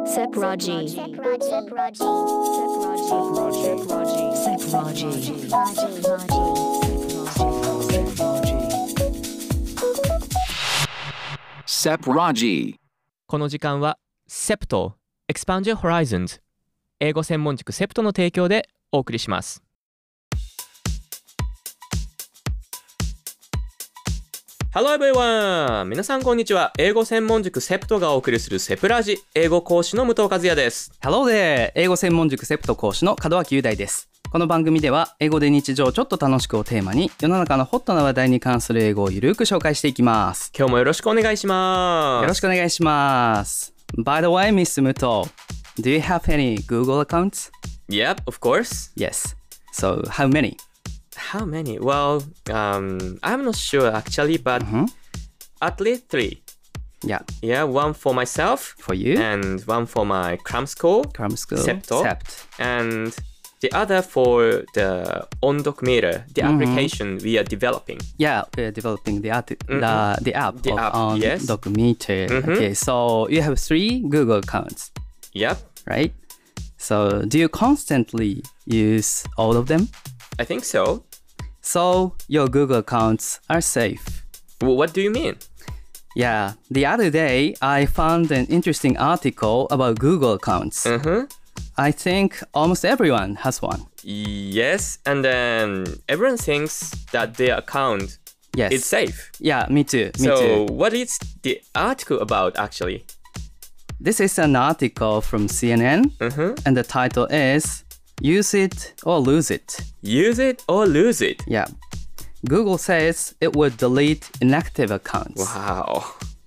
Sepraji. Sepraji. この時間は SEPT Expand Your Horizons 英語専門塾 SEPT の提供でお送りします。Hello everyone! 皆さんこんにちは。英語専門塾 SEPT がお送りするセプラジ英語講師の武藤和也です。 Hello there! 英語専門塾 SEPT 講師の門脇雄大です。この番組では英語で日常ちょっと楽しくをテーマに世の中のホットな話題に関する英語をゆるく紹介していきます。 今日もよろしくお願いします。 よろしくお願いします。By the way, Mr. Muto, do you have any Google accounts? Yep, of course. Yes. So, how many? How many? Well, I'm not sure actually, but at least 3. Yeah. Yeah, one for myself. For you? And one for my cram school. Cram school. SEPT. SEPT. And the other for the OnDoc Meter, the application we are developing. Yeah, we're developing the app of yes. OnDoc Meter. Okay, so you have 3 Google accounts, Yep, right? So, do you constantly use all of them? I think so. So, your Google accounts are safe. What do you mean? Yeah, the other day I found an interesting article about Google accounts. I think almost everyone has one. Yes, and then everyone thinks that their account Yes. is safe. Yeah, me too. Me So, too. what is the article about actually? This is an article from CNN, and the title is Use It or Lose It. Use it or lose it. Yeah. Google says it would delete inactive accounts. Wow.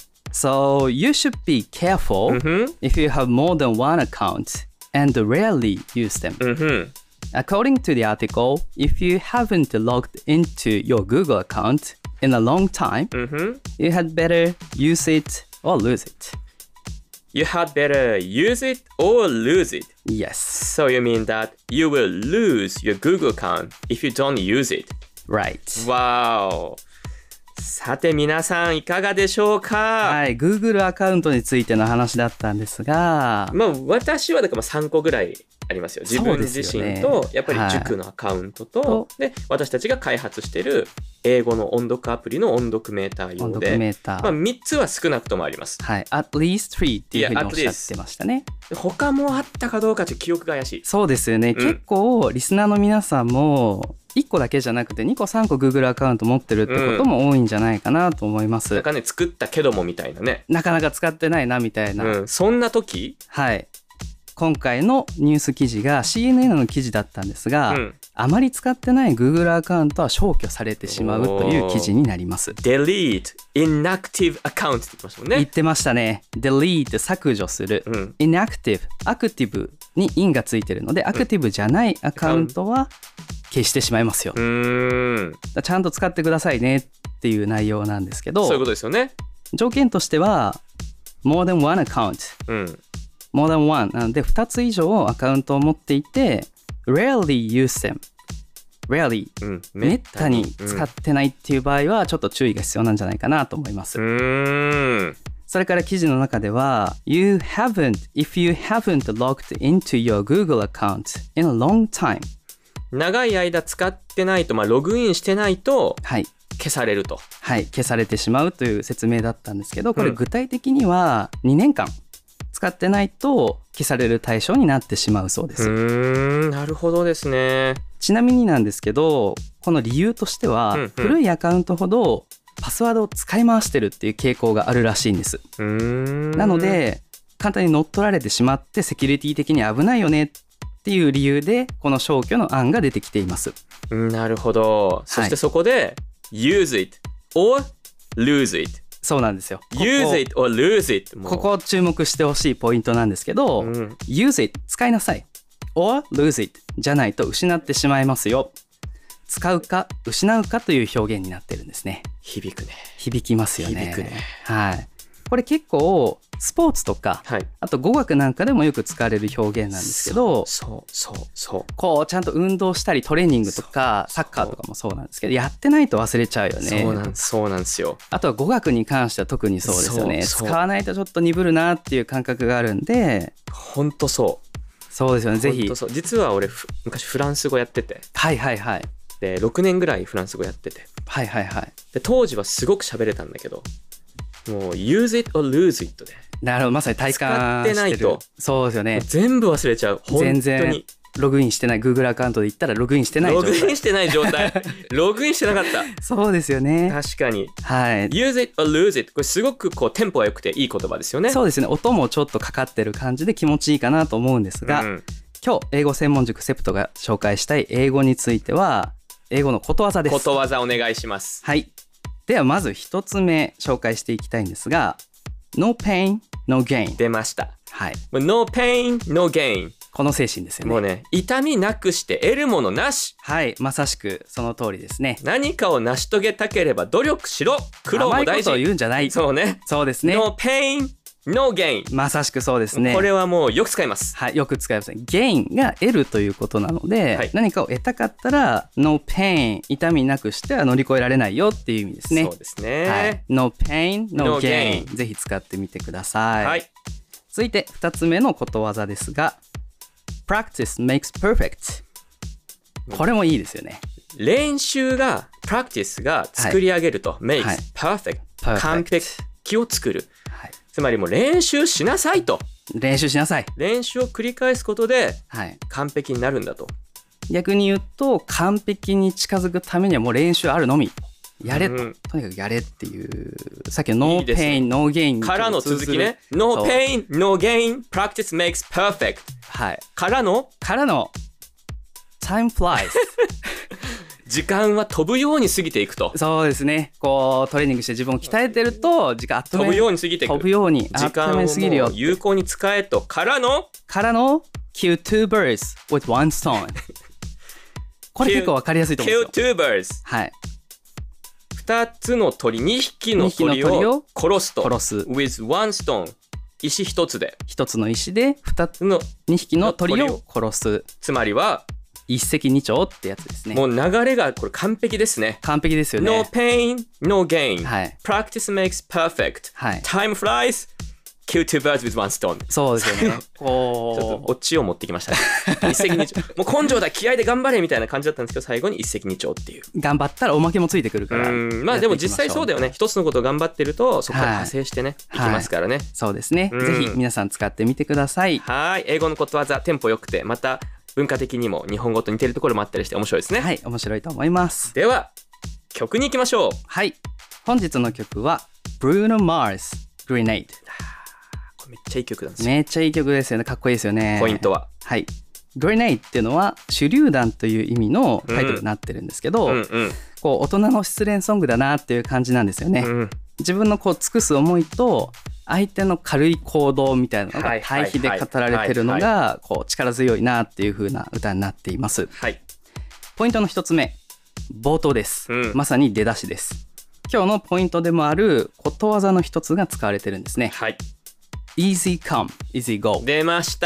So you should be careful if you have more than one account and rarely use them. According to the article, if you haven't logged into your Google account in a long time, you had better use it or lose it. You had better use it or lose it. Yes. So you mean that you will lose your Google account if you don't use it. Right. Wow. さて皆さんいかがでしょうか？ はい、Google アカウントについての話だったんですが、 まあ私はだから3個ぐらいありますよ。自分自身とやっぱり塾のアカウントと、で私たちが開発している英語の音読アプリの音読メーター用で、まあ3つは少なくともあります。 はい、at least 3っていうふうにおっしゃってましたね。 他もあったかどうかちょっと記憶が怪しい。 そうですよね。結構リスナーの皆さんも1個だけじゃなくて2個3個 Google アカウント持ってるってことも多いんじゃないかなと思います。 なんかね、作ったけどもみたいなね。 なかなか使ってないなみたいな。 そんな時？ はい。今回のニュース記事が CNN の記事だったんですが、あまり使ってない Google アカウントは消去されてしまうという記事になります。 Delete inactive account って言ってましたもんね。 言ってましたね。Delete 削除する。Inactive アクティブに in がついてるので、アクティブじゃないアカウントは消してしまいますよ。ちゃんと使ってくださいねっていう内容なんですけど、 そういうことですよね。 条件としては more than one account、more than one なので2つ以上アカウントを持っていて rarely use them rarely、めったに使ってないっていう場合はちょっと注意が必要なんじゃないかなと思います。それから記事の中では if you haven't logged into your Google account in a long time 長い間使ってないと、ログインしてないと消されると。 はい、消されてしまうという説明だったんですけど、これ具体的には2年間使ってないと消される対象になってしまうそうです。 なるほどですね。 ちなみになんですけど、この理由としては、古いアカウントほどパスワードを使い回してるっていう傾向があるらしいんです。なので簡単に乗っ取られてしまってセキュリティ的に危ないよねっていう理由でこの消去の案が出てきています。 なるほど。そしてそこで、use it or lose it。 そうなんですよ。 use it or lose it。 ここ注目してほしいポイントなんですけど、use it 使いなさい or lose it じゃないと失ってしまいますよ。使うか失うかという表現になってるんですね。 響くね。 響きますよね。 響くね。 はい。これ結構スポーツとか、 はい、 あと語学なんかでもよく使われる表現なんですけど、こうちゃんと運動したりトレーニングとかサッカーとかもそうなんですけど、やってないと忘れちゃうよね。 そうなんですよ。 あとは語学に関しては特にそうですよね。使わないとちょっと鈍るなっていう感覚があるんで。 本当そうですよね。ぜひ。 実は俺昔フランス語やってて、 はいはいはい。 で6年ぐらいフランス語やってて、 はいはいはい。 で当時はすごく喋れたんだけど、もう use it or lose it で、 なるほど、まさに体感してる。使ってないとそうですよね。全部忘れちゃう。本当に全然ログインしてない、 Google アカウントで言ったらログインしてない状態。 ログインしてない状態ログインしてなかった。 そうですよね。 確かに、 はい、 use it or lose it、 これすごくこうテンポが良くていい言葉ですよね。 そうですね。音もちょっとかかってる感じで気持ちいいかなと思うんですが、今日英語専門塾セプトが紹介したい英語については英語のことわざです。 ことわざお願いします。 はい、ではまず一つ目紹介していきたいんですが、 No pain, no gain。 出ました。 はい、 No pain, no gain。 この精神ですよね。 もうね、痛みなくして得るものなし。 はい、まさしくその通りですね。 何かを成し遂げたければ努力しろ。苦労も大事。 甘いことを言うんじゃない。 そうね。 そうですね。 No pain, no gain。 まさしくそうですね。 これはもうよく使います。 はい、よく使いますね。gain が得るということなので、はい、何かを得たかったら no pain、 痛みなくしては乗り越えられないよっていう意味ですね。 そうですね、 はい、No pain, no gain。 ぜひ使ってみてください。はい、続いて2つ目のことわざですが、 Practice makes perfect。 これもいいですよね。 練習が practice が作り上げると、makes perfect、完璧を作る。つまりもう練習しなさいと。 練習しなさい。 練習を繰り返すことで完璧になるんだと。 逆に言うと完璧に近づくためにはもう練習あるのみ。やれと、とにかくやれっていう、さっきの No pain, no gain からの続きね。No pain, no gain, practice makes perfect。 はい。 からの Time flies 時間は飛ぶように過ぎていくと。 そうですね。こうトレーニングして自分を鍛えてると時間あっという間に飛ぶように過ぎていく。 飛ぶように時間をもう有効に使えと。からの kill two birds with one stone。 これ結構わかりやすいと思うんですよ。 kill two birds。 はい。 2つの鳥、2匹の鳥を殺すと。 殺す with one stone。 石1つで、 1つの石で2匹の鳥を殺す。 つまりは一石二鳥ってやつですね。 もう流れがこれ完璧ですね。 完璧ですよね。 No pain, no gain、 はい、 Practice makes perfect、 はい、 Time flies, kill two birds with one stone。 そうですよね。こうちょっとオチを持ってきましたね。一石二鳥、もう根性だ、気合で頑張れみたいな感じだったんですけど、最後に一石二鳥っていう。 頑張ったらおまけもついてくるから。 まあでも実際そうだよね。一つのことを頑張ってるとそこから派生してね、いきますからね。 はい、そうですね。ぜひ皆さん使ってみてください。 はい、英語のことわざ、テンポ良くて、また文化的にも日本語と似てるところもあったりして面白いですね。 はい、面白いと思います。 では曲に行きましょう。 はい、本日の曲は Bruno Mars Grenade。 これめっちゃいい曲なんですよ。 めっちゃいい曲ですよね。かっこいいですよね。 ポイントは、 はい、Grenade っていうのは手榴弾という意味のタイトルになってるんですけど、こう大人の失恋ソングだなっていう感じなんですよね。自分のこう尽くす思いと相手の軽い行動みたいなのが対比で語られてるのがこう力強いなっていう風な歌になっています。 はい、 ポイントの一つ目、冒頭です。まさに出だしです。今日のポイントでもあることわざの一つが使われてるんですね。 はい、 Easy come, easy go。 出ました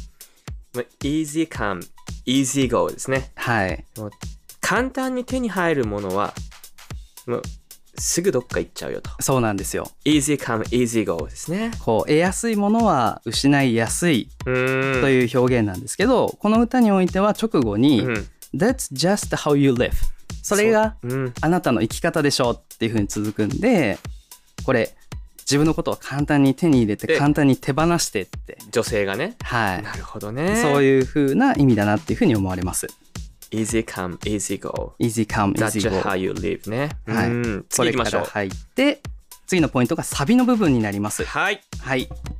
。Easy come, easy go ですね。 はい。 もう簡単に手に入るものはもうすぐどっか行っちゃうよと。 そうなんですよ。 Easy come, easy go ですね。 こう得やすいものは失いやすいという表現なんですけど、この歌においては直後に、That's just how you live。 それがあなたの生き方でしょっていう風に続くんで、これ自分のことを簡単に手に入れて簡単に手放してって、 女性がね。 はい、 なるほどね。 そういう風な意味だなっていう風に思われます。 Easy come, easy go。 Easy come, easy go。 That's how you live ね。 はい。 次行きましょう。 これから入って次のポイントがサビの部分になります。 はい。 はい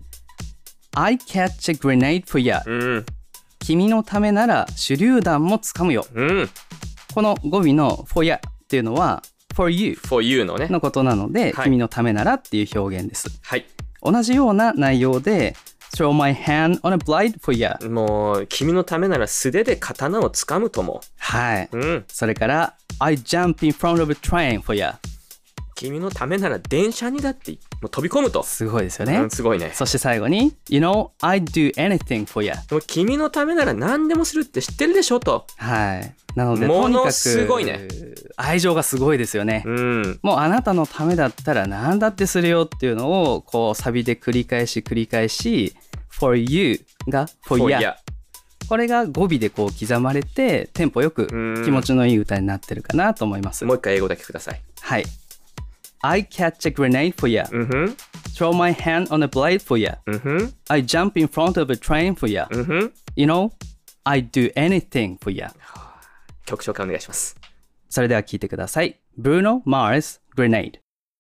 。I catch a grenade for you。君のためなら手榴弾もつかむよ。この語尾の for you っていうのは for you のねのことなので、君のためならっていう表現です。 はい。 同じような内容でThrow my hand on a blade for you。 もう君のためなら素手で刀をつかむとも。 はい、それから I jump in front of a train for you。 君のためなら電車にだってもう飛び込むと。 すごいですよね、 すごいね。 そして最後に You know I'd do anything for you。 もう君のためなら何でもするって知ってるでしょと。 はい。なのでものとにかくすごいね。 愛情がすごいですよね、もうあなたのためだったら何だってするよっていうのをこうサビで繰り返し For you が For ya、これが語尾でこう刻まれてテンポよく気持ちのいい歌になってるかなと思います。 もう一回英語だけください。 はい。I catch a grenade for ya、throw my hand on a blade for ya、I jump in front of a train for ya、You know I do anything for ya。 曲紹介お願いします。 それでは聴いてください。 Bruno Mars Grenade。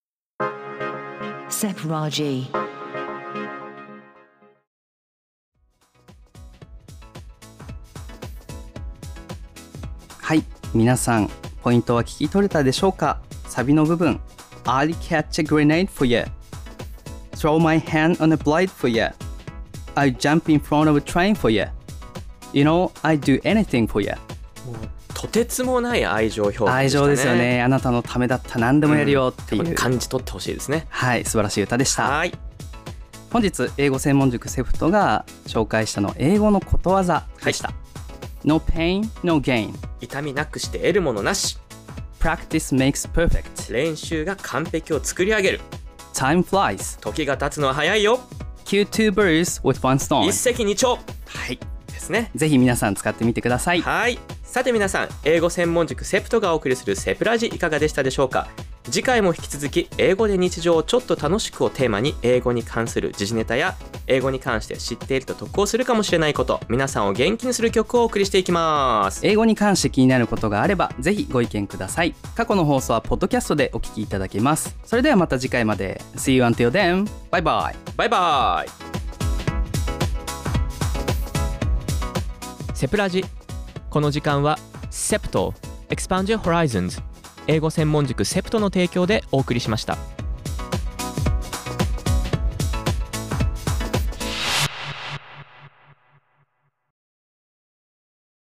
Sep Raji。 はい、皆さんポイントは聞き取れたでしょうか。サビの部分 I'll catch a grenade for ya、 throw my hand on a blade for ya、 I jump in front of a train for ya、 You know I do anything for ya。 もうとてつもない愛情表現でしたね。 愛情ですよね。あなたのためだったら何でもやるよっていう、 感じ取ってほしいですね。 はい、素晴らしい歌でした。 はい、 本日英語専門塾セフトが紹介したの英語のことわざでした、No pain, no gain。 痛みなくして得るものなし。 Practice makes perfect。 練習が完璧を作り上げる。 Time flies。 時が経つのは早いよ。 Kill two birds with one stone。 一石二鳥。 はいですね。 ぜひ皆さん使ってみてください。 はい。さて皆さん、英語専門塾セプトがお送りするセプラジいかがでしたでしょうか。次回も引き続き英語で日常をちょっと楽しくをテーマに英語に関する時事ネタや英語に関して知っていると得をするかもしれないこと、皆さんを元気にする曲をお送りしていきます。 英語に関して気になることがあればぜひご意見ください。過去の放送はポッドキャストでお聞きいただけます。それではまた次回まで。 See you until then。 バイバイ。 バイバイ。セプラジ、この時間はセプト Expand Your Horizons 英語専門塾セプトの提供でお送りしました。